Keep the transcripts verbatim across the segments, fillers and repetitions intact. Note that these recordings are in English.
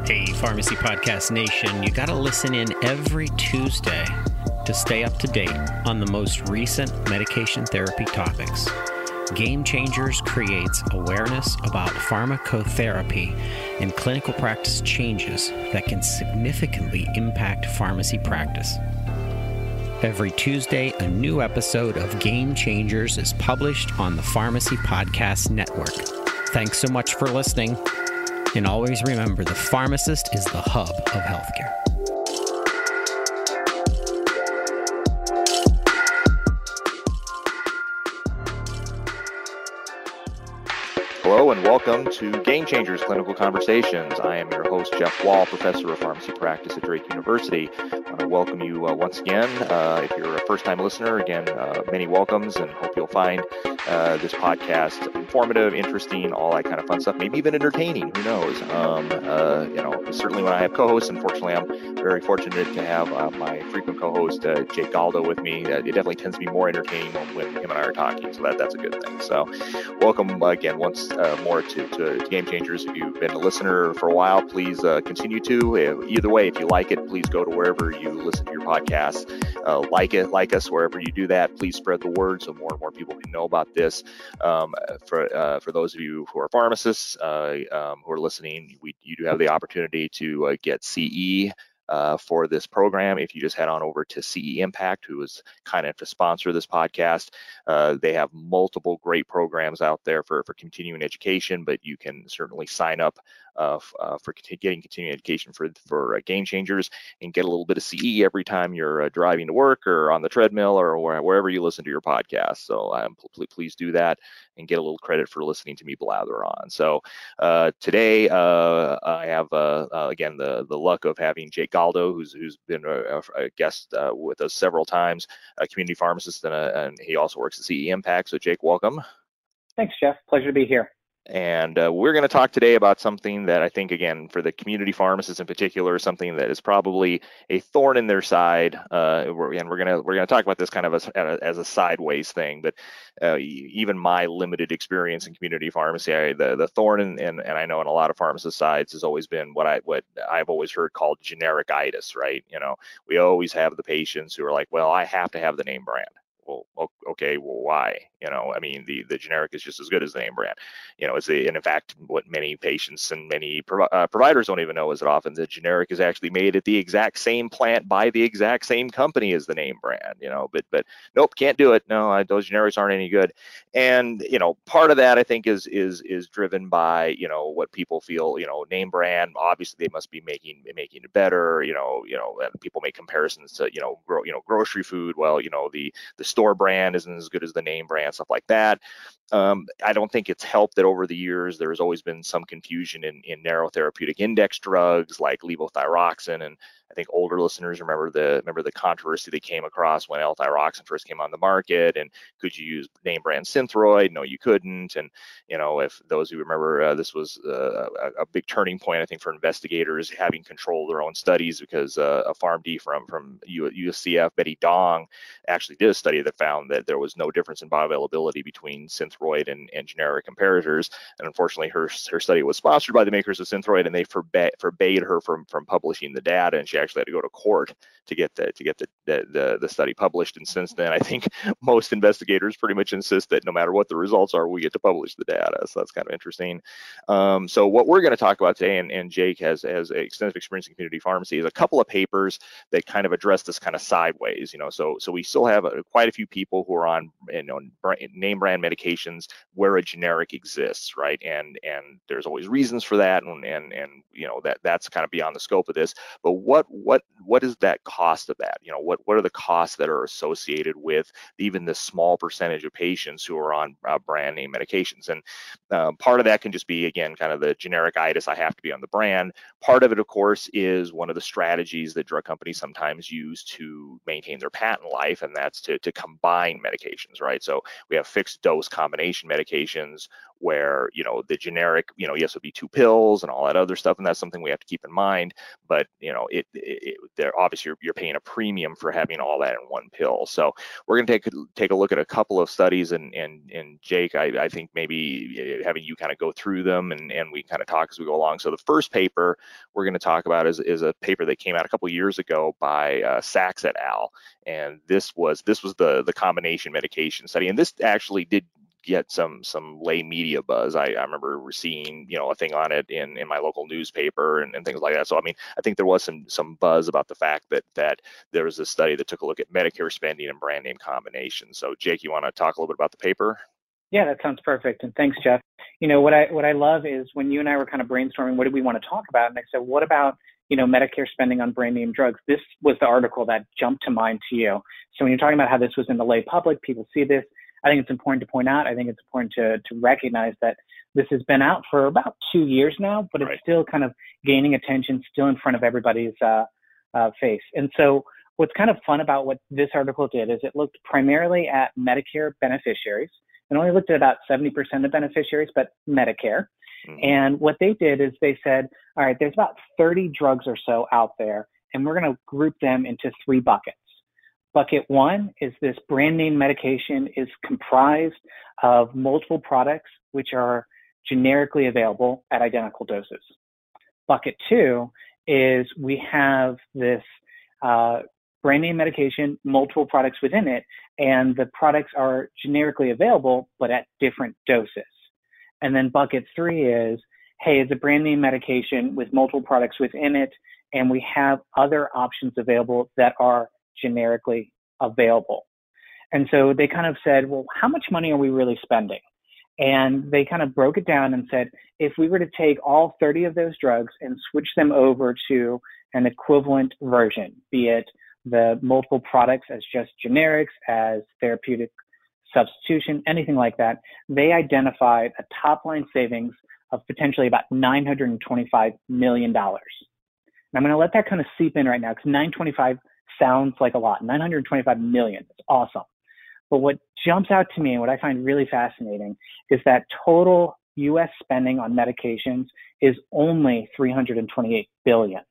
Hey, Pharmacy Podcast Nation, you got to listen in every Tuesday to stay up to date on the most recent medication therapy topics. Game Changers creates awareness about pharmacotherapy and clinical practice changes that can significantly impact pharmacy practice. Every Tuesday, a new episode of Game Changers is published on the Pharmacy Podcast Network. Thanks so much for listening. And always remember, the pharmacist is the hub of healthcare. Hello and welcome to Game Changers Clinical Conversations. I am your host, Jeff Wall, Professor of Pharmacy Practice at Drake University. I want to welcome you uh, once again. Uh, if you're a first-time listener, again, uh, many welcomes, and hope you'll find uh, this podcast informative, interesting, all that kind of fun stuff, maybe even entertaining, who knows. Um, uh, you know, certainly when I have co-hosts, unfortunately, I'm very fortunate to have uh, my frequent co-host, uh, Jake Galdo, with me. Uh, it definitely tends to be more entertaining when him and I are talking, so that, that's a good thing. So welcome uh, again once Uh, more to, to, to Game Changers. If you've been a listener for a while, please uh, continue to. Uh, either way, if you like it, please go to wherever you listen to your podcasts. Uh, like it, like us wherever you do that. Please spread the word so more and more people can know about this. Um, for uh, for those of you who are pharmacists uh, um, who are listening, we you do have the opportunity to uh, get C E. Uh, for this program. If you just head on over to C E Impact, who is kind of to sponsor this podcast, uh, they have multiple great programs out there for, for continuing education, but you can certainly sign up uh, f- uh, for cont- getting continuing education for, for uh, Game Changers and get a little bit of C E every time you're uh, driving to work or on the treadmill or where, wherever you listen to your podcast. So um, pl- please do that and get a little credit for listening to me blather on. So uh, today uh, I have, uh, uh, again, the, the luck of having Jake Galdo, who's who's been a, a guest uh, with us several times, a community pharmacist, and, a, and he also works at C E Impact. So Jake, welcome. Thanks, Jeff. Pleasure to be here. And uh, we're going to talk today about something that I think, again, for the community pharmacists in particular, something that is probably a thorn in their side. Uh, we're, and we're going to we're going to talk about this kind of as, as a sideways thing. But uh, even my limited experience in community pharmacy, I, the the thorn in, and and I know in a lot of pharmacist sides has always been what I what I've always heard called generic-itis, right? You know, we always have the patients who are like, well, I have to have the name brand. Well, okay, well, why? You know, I mean, the, the generic is just as good as the name brand. You know, it's the, and in fact, what many patients and many prov- uh, providers don't even know is that often the generic is actually made at the exact same plant by the exact same company as the name brand. You know, but but nope, can't do it. No, I, those generics aren't any good. And you know, part of that I think is is is driven by you know what people feel. You know, name brand. Obviously, they must be making making it better. You know, you know, and people make comparisons to you know, gro- you know, grocery food. Well, you know, the the store brand isn't as good as the name brand, stuff like that. Um, I don't think it's helped that over the years there's always been some confusion in, in narrow therapeutic index drugs like levothyroxine, and I think older listeners remember the remember the controversy they came across when L-thyroxine first came on the market, and could you use name brand Synthroid? No, you couldn't. And you know, if those who remember, uh, this was uh, a, a big turning point, I think, for investigators having control of their own studies, because uh, a PharmD from from U S C F, Betty Dong, actually did a study that found that there was no difference in bioavailability between Synthroid and, and generic comparators. And unfortunately, her her study was sponsored by the makers of Synthroid, and they forbade forbade her from from publishing the data, and she actually had to go to court to get the to get the the, the, the study published. And since then, I think most investigators pretty much insist that no matter what the results are, we get to publish the data. So that's kind of interesting. Um, so what we're going to talk about today, and, and Jake has has extensive experience in community pharmacy, is a couple of papers that kind of address this kind of sideways. You know, so so we still have a, quite a few people who are on you know name brand medications where a generic exists, right? And and there's always reasons for that, and and and you know that that's kind of beyond the scope of this. But what what what is that cost of that? You know, what what are the costs that are associated with even this small percentage of patients who are on uh, brand name medications? And um, part of that can just be, again, kind of the generic-itis, I have to be on the brand. Part of it, of course, is one of the strategies that drug companies sometimes use to maintain their patent life, and that's to to combine medications, right? So we have fixed dose combination combination medications where, you know, the generic, you know, yes, it would be two pills and all that other stuff. And that's something we have to keep in mind. But, you know, it, it, it they're obviously you're, you're paying a premium for having all that in one pill. So we're going to take, take a look at a couple of studies. And, and, and Jake, I, I think maybe having you kind of go through them and, and we kind of talk as we go along. So the first paper we're going to talk about is, is a paper that came out a couple of years ago by uh, Sachs et al. And this was, this was the, the combination medication study. And this actually did get some some lay media buzz. I, I remember seeing, you know, a thing on it in, in my local newspaper and, and things like that. So I mean, I think there was some some buzz about the fact that that there was a study that took a look at Medicare spending and brand name combinations. So Jake, you want to talk a little bit about the paper? Yeah, that sounds perfect. And thanks, Jeff. You know, what I what I love is when you and I were kind of brainstorming, what did we want to talk about? And I said, what about, you know, Medicare spending on brand name drugs? This was the article that jumped to mind to you. So when you're talking about how this was in the lay public, people see this. I think it's important to point out, I think it's important to, to recognize that this has been out for about two years now, but it's right. still kind of gaining attention, still in front of everybody's uh, uh, face. And so what's kind of fun about what this article did is it looked primarily at Medicare beneficiaries and only looked at about seventy percent of beneficiaries, but Medicare. Mm-hmm. And what they did is they said, all right, there's about thirty drugs or so out there, and we're going to group them into three buckets. Bucket one is this brand name medication is comprised of multiple products which are generically available at identical doses. Bucket two is we have this uh, brand name medication, multiple products within it, and the products are generically available but at different doses. And then bucket three is, hey, it's a brand name medication with multiple products within it, and we have other options available that are generically available. And so they kind of said, well, how much money are we really spending? And they kind of broke it down and said, if we were to take all thirty of those drugs and switch them over to an equivalent version, be it the multiple products as just generics, as therapeutic substitution, anything like that, they identified a top line savings of potentially about nine hundred twenty-five million dollars. And I'm going to let that kind of seep in right now because nine hundred twenty-five sounds like a lot. nine hundred twenty-five million. It's awesome. But what jumps out to me and what I find really fascinating is that total U S spending on medications is only three hundred twenty-eight billion.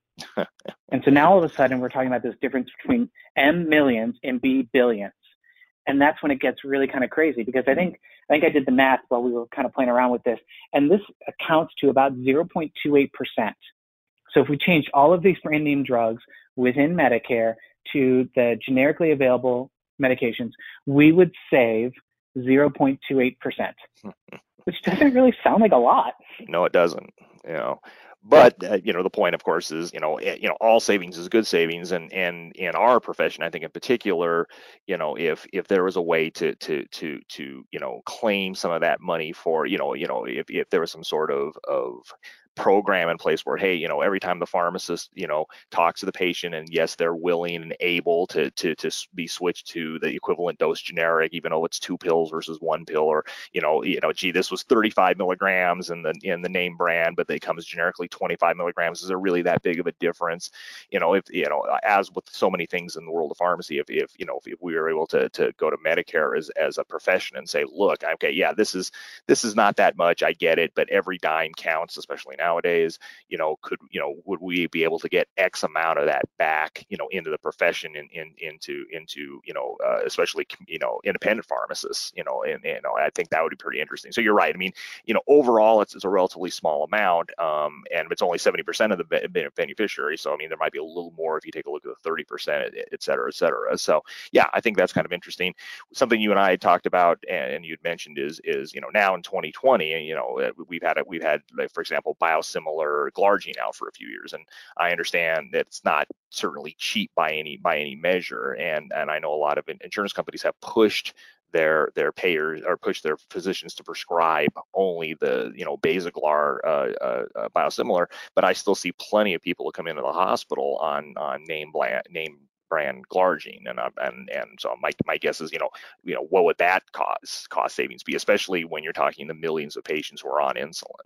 And so now all of a sudden we're talking about this difference between M millions and B billions. And that's when it gets really kind of crazy because I think I think I did the math while we were kind of playing around with this. And this accounts to about zero point two eight percent. So if we change all of these brand name drugs within Medicare to the generically available medications, we would save zero point two eight percent, which doesn't really sound like a lot. No, it doesn't. You know, but uh, you know, the point, of course, is you know, you know, all savings is good savings, and and in our profession, I think in particular, you know, if if there was a way to to to to you know claim some of that money for you know you know if if there was some sort of of program in place where, hey, you know, every time the pharmacist, you know, talks to the patient and yes, they're willing and able to to to be switched to the equivalent dose generic, even though it's two pills versus one pill, or, you know, you know, gee, this was thirty-five milligrams in the in the name brand, but they come as generically twenty-five milligrams. Is there really that big of a difference? You know, if, you know, as with so many things in the world of pharmacy, if, if you know, if, if we were able to to go to Medicare as as a profession and say, look, okay, yeah, this is this is not that much, I get it, but every dime counts, especially now. Nowadays, you know, could, you know, would we be able to get X amount of that back, you know, into the profession and in, in, into, into, you know, uh, especially, you know, independent pharmacists, you know, and, and you know, I think that would be pretty interesting. So you're right. I mean, you know, overall, it's, it's a relatively small amount, um, and it's only seventy percent of the beneficiary. So, I mean, there might be a little more if you take a look at the thirty percent, et cetera, et cetera. So, yeah, I think that's kind of interesting. Something you and I had talked about, and you'd mentioned is, is, you know, now in twenty twenty, you know, we've had, a, we've had, like, for example, biosimilar glargine out for a few years, and I understand that it's not certainly cheap by any by any measure, and and I know a lot of insurance companies have pushed their their payers or pushed their physicians to prescribe only the you know Basaglar uh, uh, uh, biosimilar, but I still see plenty of people who come into the hospital on on name brand name brand glargine, and uh, and and so my my guess is you know you know what would that cost cost savings be, especially when you're talking the millions of patients who are on insulin.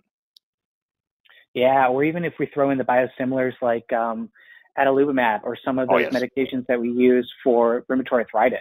Yeah, or even if we throw in the biosimilars like um, adalimumab or some of those oh, yes. medications that we use for rheumatoid arthritis.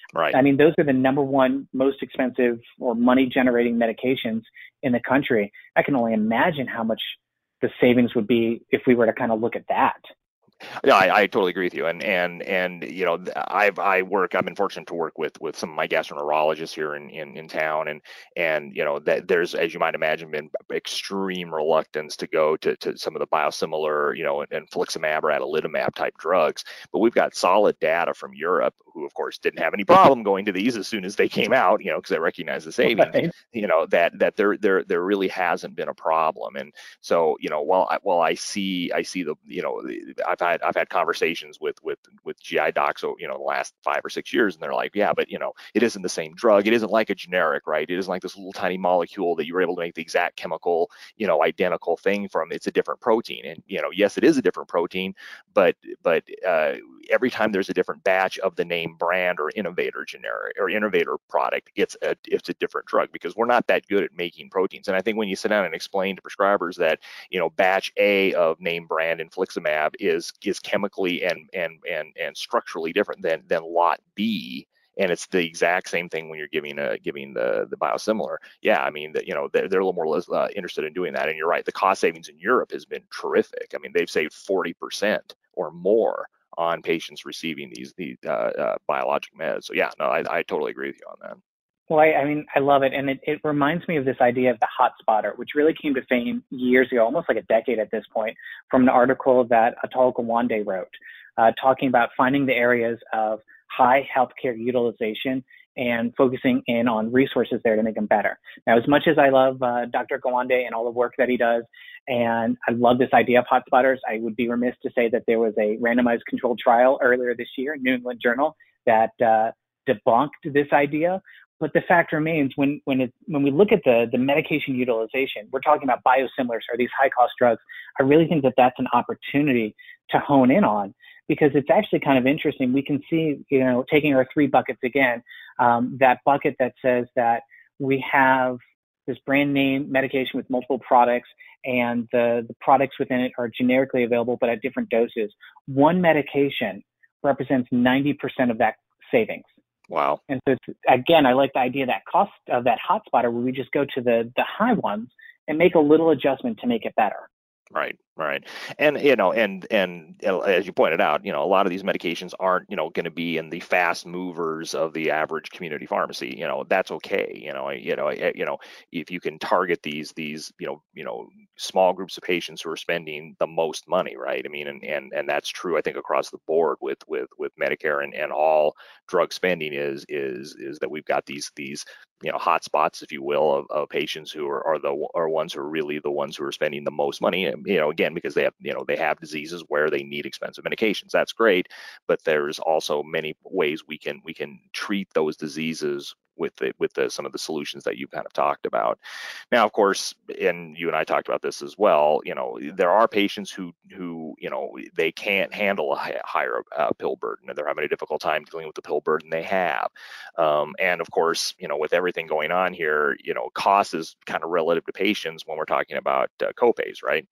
Right. I mean, those are the number one most expensive or money generating medications in the country. I can only imagine how much the savings would be if we were to kind of look at that. Yeah, I, I totally agree with you. And and and you know, I've I work. I've been fortunate to work with with some of my gastroenterologists here in in, in town, and and you know that there's, as you might imagine, been extreme reluctance to go to to some of the biosimilar, you know, and, and infliximab or adalimumab type drugs. But we've got solid data from Europe, who of course didn't have any problem going to these as soon as they came out, you know, because they recognize the savings. Right. You know, that that there there there really hasn't been a problem. And so, you know, while I, while I see I see the, you know, I've had I've had conversations with with with G I docs, you know, the last five or six years, and they're like, yeah, but you know, it isn't the same drug. It isn't like a generic, right? It isn't like this little tiny molecule that you were able to make the exact chemical, you know, identical thing from. It's a different protein, and you know, yes, it is a different protein, but but uh, every time there's a different batch of the name brand or innovator generic or innovator product, it's a it's a different drug, because we're not that good at making proteins. And I think when you sit down and explain to prescribers that, you know, batch A of name brand infliximab is is chemically and and and and structurally different than than lot B, and it's the exact same thing when you're giving a giving the the biosimilar. Yeah, I mean, that, you know, they're, they're a little more uh, interested in doing that. And you're right, the cost savings in Europe has been terrific. I mean, they've saved forty percent or more on patients receiving these these uh, uh, biologic meds. So yeah, no, I, I totally agree with you on that. Well, I, I mean, I love it. And it, it reminds me of this idea of the hot spotter, which really came to fame years ago, almost like a decade at this point, from an article that Atul Gawande wrote, uh, talking about finding the areas of high healthcare utilization and focusing in on resources there to make them better. Now, as much as I love uh, Doctor Gawande and all the work that he does, and I love this idea of hotspotters, I would be remiss to say that there was a randomized controlled trial earlier this year in New England Journal that uh, debunked this idea. But the fact remains, when when it when we look at the the medication utilization, we're talking about biosimilars or these high cost drugs. I really think that that's an opportunity to hone in on, because it's actually kind of interesting. We can see, you know, taking our three buckets again, um, that bucket that says that we have this brand name medication with multiple products, and the, the products within it are generically available but at different doses. One medication represents ninety percent of that savings. Wow. And so it's, again, I like the idea of that cost of that hotspotter, where we just go to the the high ones and make a little adjustment to make it better. Right, right. And, you know, and, and as you pointed out, you know, a lot of these medications aren't, you know, going to be in the fast movers of the average community pharmacy. You know, that's okay. You know, you know, you know, if you can target these, these, you know, you know, small groups of patients who are spending the most money, right? I mean, and, and, and that's true, I think, across the board with, with, with Medicare and, and all drug spending is, is, is that we've got these, these, you know, hotspots, if you will, of, of patients who are, are the are ones who are really the ones who are spending the most money. And, you know, again, because they have, you know, they have diseases where they need expensive medications. That's great, but there's also many ways we can we can treat those diseases with the with the some of the solutions that you've kind of talked about. Now, of course, and you and I talked about this as well, you know, there are patients who who you know, they can't handle a higher uh, pill burden, and they're having a difficult time dealing with the pill burden they have. Um, and of course, you know, with everything going on here, you know, cost is kind of relative to patients when we're talking about uh, copays, right?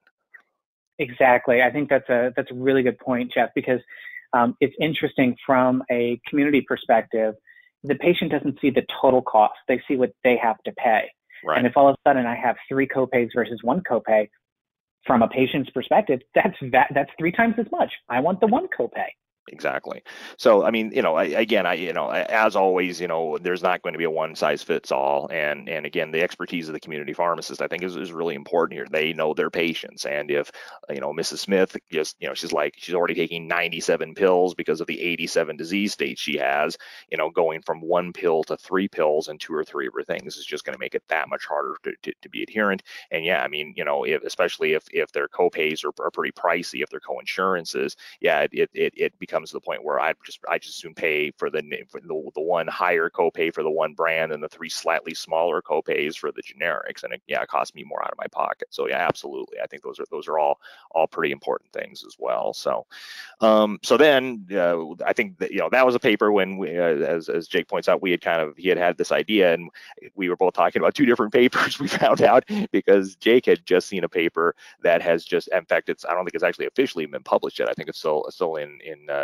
Exactly. I think that's a that's a really good point, Jeff, because um, it's interesting from a community perspective. The patient doesn't see the total cost; they see what they have to pay. Right. And if all of a sudden I have three copays versus one copay, from a patient's perspective, that's that, that's three times as much. I want the one copay. Exactly. So, I mean, you know, I, again, I, you know, as always, you know, there's not going to be a one size fits all. And, and again, the expertise of the community pharmacist, I think is, is really important here. They know their patients. And if, you know, Missus Smith just, you know, she's like, she's already taking ninety-seven pills because of the eighty-seven disease states she has, you know, going from one pill to three pills and two or three of her things is just going to make it that much harder to, to, to be adherent. And yeah, I mean, you know, if, especially if, if their copays are, are pretty pricey, if their coinsurances, yeah, it, it, it becomes to the point where I just I just assume pay for the for the, the one higher copay for the one brand and the three slightly smaller copays for the generics, and it, yeah, it costs me more out of my pocket. So yeah, absolutely, I think those are those are all all pretty important things as well. So um, so then uh, I think that, you know, that was a paper when we, uh, as as Jake points out, we had kind of he had had this idea, and we were both talking about two different papers. We found out because Jake had just seen a paper that has just, in fact, it's I don't think it's actually officially been published yet. I think it's still still in in uh,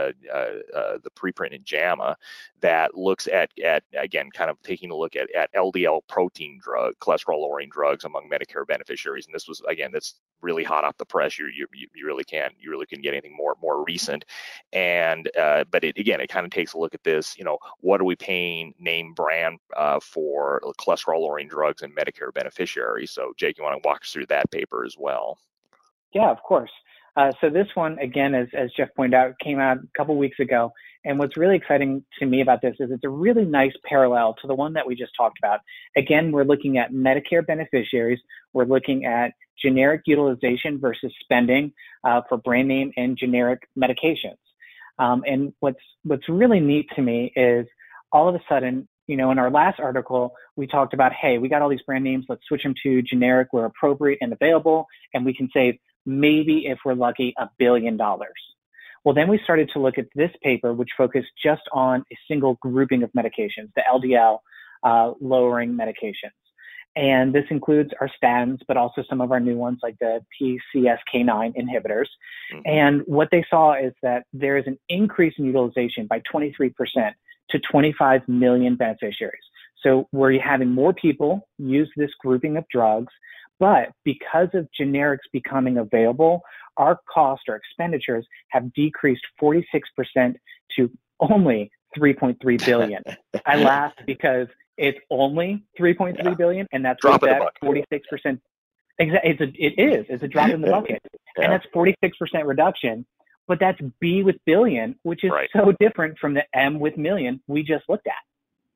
uh, uh, uh, the preprint in JAMA that looks at, at again, kind of taking a look at, at L D L protein drug, cholesterol lowering drugs among Medicare beneficiaries. And this was, again, that's really hot off the press. You you, you really can't, you really couldn't get anything more, more recent. And, uh, but it, again, it kind of takes a look at this, you know, what are we paying name brand uh, for cholesterol lowering drugs and Medicare beneficiaries? So Jake, you want to walk us through that paper as well? Yeah, of course. Uh, so this one, again, as, as Jeff pointed out, came out a couple weeks ago. And what's really exciting to me about this is it's a really nice parallel to the one that we just talked about. Again, we're looking at Medicare beneficiaries. We're looking at generic utilization versus spending uh, for brand name and generic medications. Um, and what's what's really neat to me is all of a sudden, you know, in our last article, we talked about, hey, we got all these brand names. Let's switch them to generic where appropriate and available, and we can save maybe, if we're lucky, a billion dollars. Well, then we started to look at this paper, which focused just on a single grouping of medications, the L D L uh, lowering medications. And this includes our statins, but also some of our new ones like the P C S K nine inhibitors. Mm-hmm. And what they saw is that there is an increase in utilization by twenty-three percent to twenty-five million beneficiaries. So we're having more people use this grouping of drugs. But because of generics becoming available, our cost or expenditures have decreased forty-six percent to only three point three billion dollars. I laugh because it's only three point three yeah. billion dollars, and that's drop what in that forty-six percent. Exactly, it's a, it is. It's a drop in the bucket, yeah. and that's forty-six percent reduction. But that's B with billion, which is right. so different from the M with million we just looked at.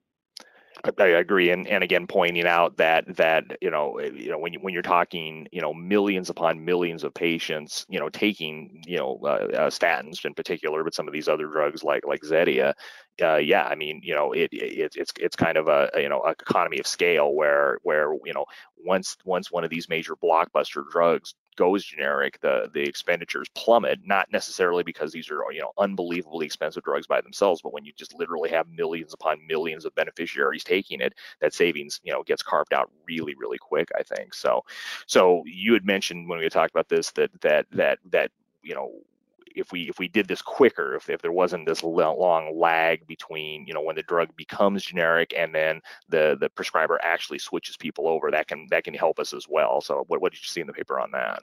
I agree, and and again, pointing out that that you know you know when you when you're talking you know millions upon millions of patients you know taking you know uh, uh, statins in particular, but some of these other drugs like like Zetia, uh, yeah, I mean you know it, it it's it's kind of a you know a economy of scale where where you know once once one of these major blockbuster drugs goes generic, the the expenditures plummet, not necessarily because these are you know unbelievably expensive drugs by themselves, but when you just literally have millions upon millions of beneficiaries taking it, that savings you know gets carved out really really quick, I think. So so you had mentioned when we talked about this that that that that you know if we if we did this quicker, if, if there wasn't this long lag between you know when the drug becomes generic and then the the prescriber actually switches people over, that can that can help us as well. So what what did you see in the paper on that?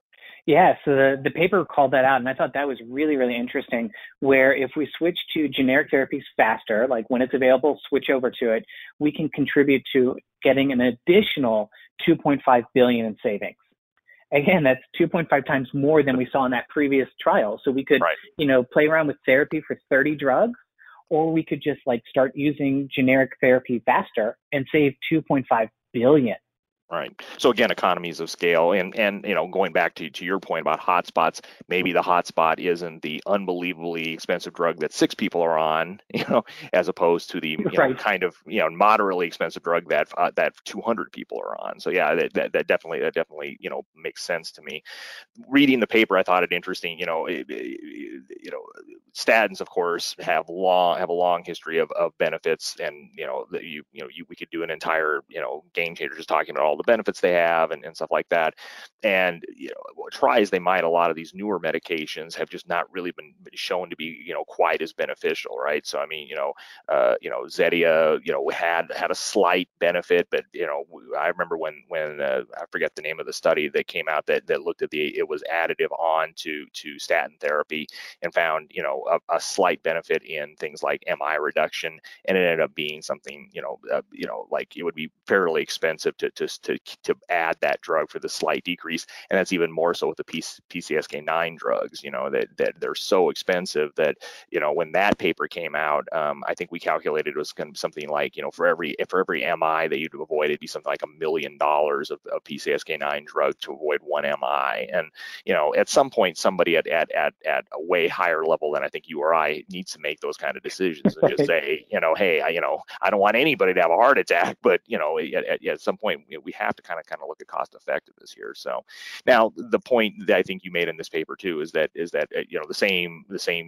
Yeah, so the, the paper called that out, and I thought that was really, really interesting, where if we switch to generic therapies faster, like when it's available, switch over to it, we can contribute to getting an additional two point five billion dollars in savings. Again, that's two point five times more than we saw in that previous trial. So we could, right. you know, play around with therapy for thirty drugs, or we could just like start using generic therapy faster and save two point five billion dollars. Right. So again, economies of scale, and and you know, going back to to your point about hotspots, maybe the hotspot isn't the unbelievably expensive drug that six people are on, you know, as opposed to the you right. know, kind of you know moderately expensive drug that uh, that two hundred people are on. So yeah, that, that that definitely that definitely you know makes sense to me. Reading the paper, I thought it interesting. You know, it, it, you know, statins, of course, have long have a long history of, of benefits, and you know, that you you know, you, we could do an entire you know game changer just talking about all the benefits they have and, and stuff like that. And you know, try as they might, a lot of these newer medications have just not really been shown to be you know quite as beneficial, right? So I mean, you know, uh, you know, Zetia, you know, had had a slight benefit, but you know, I remember when when uh, I forget the name of the study that came out that that looked at the it was additive on to to statin therapy and found you know a, a slight benefit in things like M I reduction, and it ended up being something you know uh, you know like it would be fairly expensive to to to to add that drug for the slight decrease, and that's even more so with the P C S K nine drugs. You know that that they're so expensive that you know when that paper came out, um, I think we calculated it was going to be something like you know for every for every M I that you'd avoid, it'd be something like a million dollars of, of P C S K nine drug to avoid one M I. And you know at some point somebody at at at at a way higher level than I think you or I needs to make those kind of decisions and just say you know hey I, you know I don't want anybody to have a heart attack, but you know at, at, at some point we, we have to kind of kind of look at cost effectiveness here. So now the point that I think you made in this paper too is that is that you know the same the same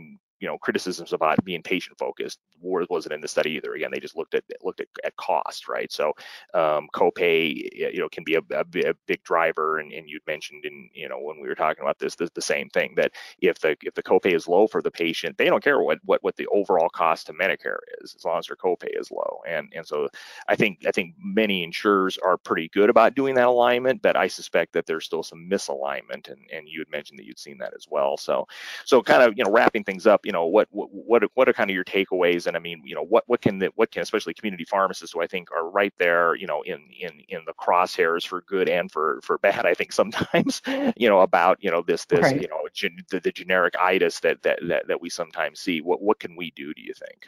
you know, criticisms about being patient focused wasn't in the study either. Again, they just looked at looked at, at cost, right? So um, copay, you know, can be a, a, a big driver, and, and you'd mentioned in, you know, when we were talking about this, the, the same thing, that if the if the copay is low for the patient, they don't care what what what the overall cost to Medicare is, as long as their copay is low. And and so I think I think many insurers are pretty good about doing that alignment, but I suspect that there's still some misalignment, and and you had mentioned that you'd seen that as well. So so kind of, you know, wrapping things up, you know, what what what what are kind of your takeaways? And I mean, you know, what what can the, what can especially community pharmacists, who I think are right there, you know, in in in the crosshairs for good and for for bad, I think sometimes, you know, about, you know, this this right. you know gen, the, the generic itis that, that that that we sometimes see. What what can we do, do you think?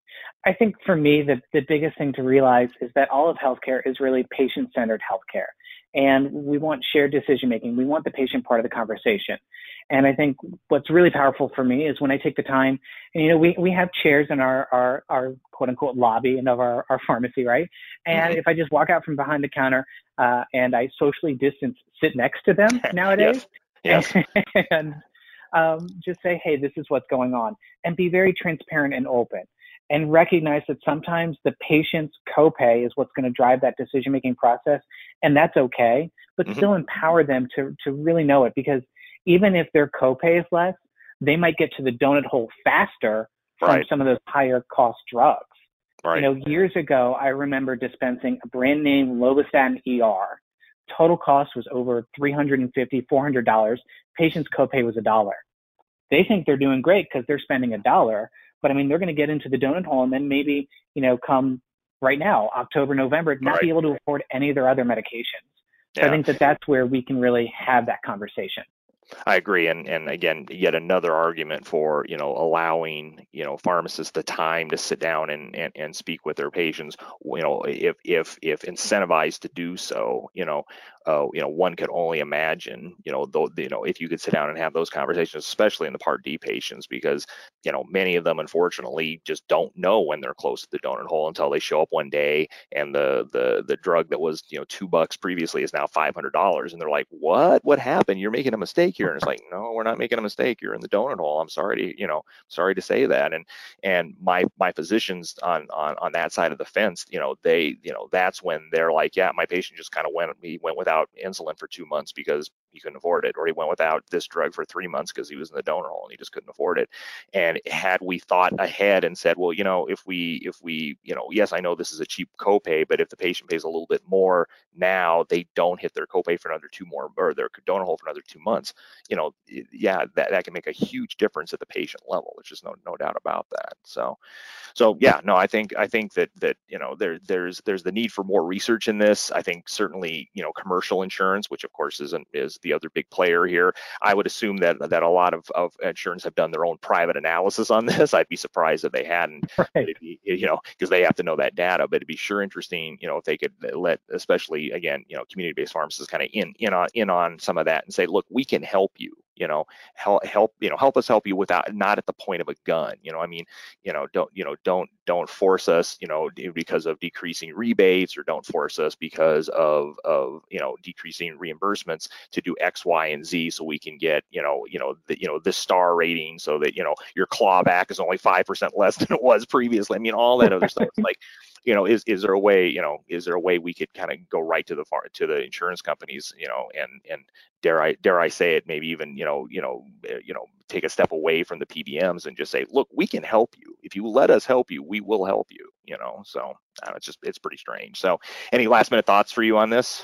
I think for me, the, the biggest thing to realize is that all of healthcare is really patient-centered healthcare. And we want shared decision-making. We want the patient part of the conversation. And I think what's really powerful for me is when I take the time, and, you know, we, we have chairs in our, our, our quote-unquote lobby and of our, our pharmacy, right? And mm-hmm. if I just walk out from behind the counter uh, and I socially distance, sit next to them nowadays, yes. Yes. and um, just say, hey, this is what's going on, and be very transparent and open. And recognize that sometimes the patient's copay is what's going to drive that decision-making process, and that's okay, but mm-hmm. still empower them to, to really know it, because even if their copay is less, they might get to the donut hole faster from right. some of those higher cost drugs. Right. You know, years ago, I remember dispensing a brand name Lovastatin E R. Total cost was over three hundred fifty dollars, four hundred dollars. Patient's copay was a dollar. They think they're doing great because they're spending a dollar. But I mean, they're going to get into the donut hole, and then maybe, you know, come right now, October, November, not right. be able to afford any of their other medications. So yeah. I think that that's where we can really have that conversation. I agree. And, and again, yet another argument for, you know, allowing, you know, pharmacists the time to sit down and, and, and speak with their patients. You know, if, if, if incentivized to do so, you know, uh, you know, one could only imagine, you know, though, you know, if you could sit down and have those conversations, especially in the Part D patients, because, you know, many of them, unfortunately, just don't know when they're close to the donut hole until they show up one day and the, the, the drug that was, you know, two bucks previously is now five hundred dollars. And they're like, what, what happened? You're making a mistake here. And it's like, no, we're not making a mistake. You're in the donut hole. I'm sorry to, you know, sorry to say that. And, and my, my physicians on, on, on that side of the fence, you know, they, you know, that's when they're like, yeah, my patient just kind of went, he went without insulin for two months because he couldn't afford it, or he went without this drug for three months because he was in the donut hole and he just couldn't afford it. And had we thought ahead and said, well, you know, if we, if we, you know, yes, I know this is a cheap copay, but if the patient pays a little bit more now, they don't hit their copay for another two more, or their donut hole for another two months, you know, yeah, that, that can make a huge difference at the patient level. There's just no, no doubt about that. So, so yeah, no, I think, I think that, that, you know, there, there's, there's the need for more research in this. I think certainly, you know, commercial insurance, which of course isn't, is the other big player here. I would assume that that a lot of, of insurance have done their own private analysis on this. I'd be surprised if they hadn't, right. be, you know, because they have to know that data. But it'd be sure interesting, you know, if they could let, especially again, you know, community-based pharmacists kind of in in on in on some of that and say, look, we can help you. You know, help, help, you know, help us help you without, not at the point of a gun. You know, I mean, you know, don't, you know, don't, don't force us, you know, because of decreasing rebates, or don't force us because of, of, you know, decreasing reimbursements to do X, Y, and Z so we can get, you know, you know, the, you know, this star rating so that, you know, your clawback is only five percent less than it was previously. I mean, all that other stuff. It's like, you know, is, is there a way, you know, is there a way we could kind of go right to the far, to the insurance companies, you know, and, and dare I, dare I say it, maybe even, you know, you know, you know, take a step away from the P B Ms and just say, look, we can help you. If you let us help you, we will help you, you know? So uh, it's just, it's pretty strange. So any last minute thoughts for you on this?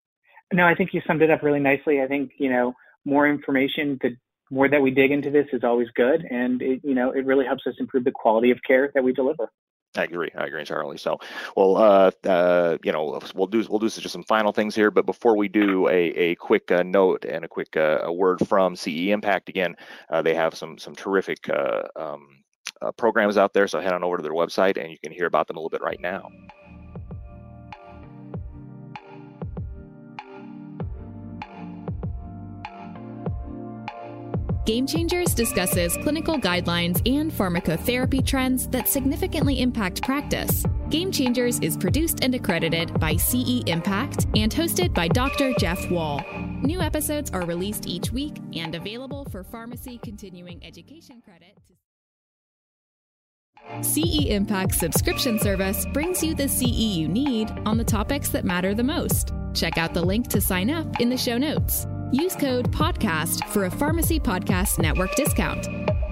No, I think you summed it up really nicely. I think, you know, more information, the more that we dig into this is always good. And it, you know, it really helps us improve the quality of care that we deliver. I agree. I agree entirely. So, well, uh, uh, you know, we'll do we'll do just some final things here. But before we do, a a quick uh, note and a quick uh, a word from C E Impact. Again, uh, they have some some terrific uh, um, uh, programs out there. So head on over to their website and you can hear about them a little bit right now. Game Changers discusses clinical guidelines and pharmacotherapy trends that significantly impact practice. Game Changers is produced and accredited by C E Impact and hosted by Doctor Jeff Wall. New episodes are released each week and available for pharmacy continuing education credit. C E Impact's subscription service brings you the C E you need on the topics that matter the most. Check out the link to sign up in the show notes. Use code PODCAST for a Pharmacy Podcast Network discount.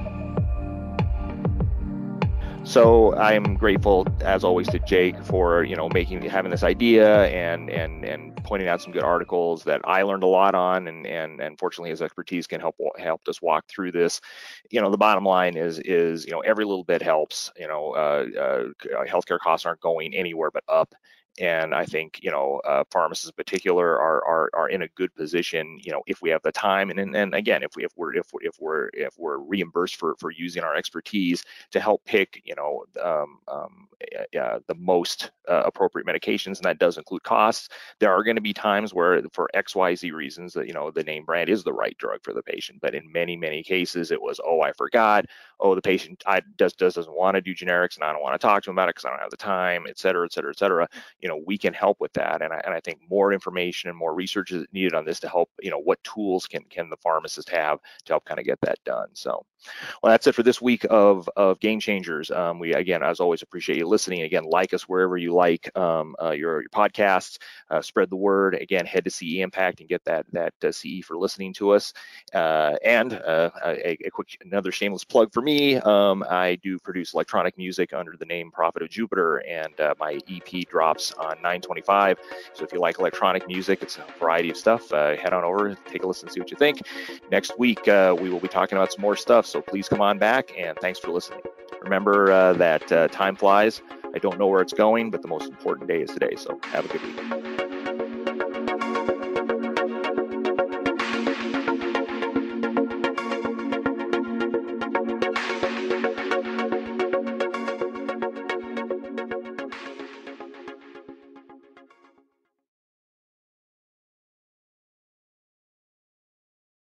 So I'm grateful, as always, to Jake for, you know, making having this idea and and and pointing out some good articles that I learned a lot on, and and and fortunately his expertise can help helped us walk through this. You know, the bottom line is is you know every little bit helps. You know, uh, uh, healthcare costs aren't going anywhere but up. And I think, you know, uh, pharmacists in particular are, are are in a good position, you know, if we have the time, and and, and again, if we if we're if we're if we're if we're reimbursed for for using our expertise to help pick, you know, um, um, uh, the most uh, appropriate medications, and that does include costs. There are going to be times where, for X Y Z reasons, that you know the name brand is the right drug for the patient, but in many many cases it was, oh, I forgot, oh, the patient I just doesn't want to do generics, and I don't want to talk to him about it because I don't have the time, et cetera, et cetera, et cetera. You know, we can help with that, and I, and I think more information and more research is needed on this to help. You know, what tools can can the pharmacist have to help kind of get that done. So, well, that's it for this week of of Game Changers. Um, we again, as always, appreciate you listening. Again, like us wherever you like um, uh, your your podcasts. Uh, spread the word. Again, head to C E Impact and get that that uh, C E for listening to us. Uh, and uh, a, a quick another shameless plug for me. Um, I do produce electronic music under the name Prophet of Jupiter, and uh, my E P drops on nine twenty-five. So if you like electronic music, it's a variety of stuff. Uh, head on over, take a listen, see what you think. Next week, uh, we will be talking about some more stuff. So please come on back, and thanks for listening. Remember uh, that uh, time flies. I don't know where it's going, but the most important day is today. So have a good week.